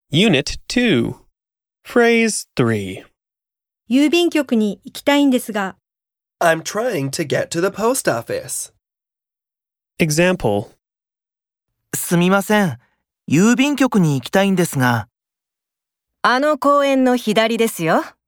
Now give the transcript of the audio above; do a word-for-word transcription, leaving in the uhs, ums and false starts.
Unit two. Phrase three. 郵便局に行きたいんですが、 I'm trying to get to the post office. Example. すみません。郵便局に行きたいんですが。 あの公園の左ですよ。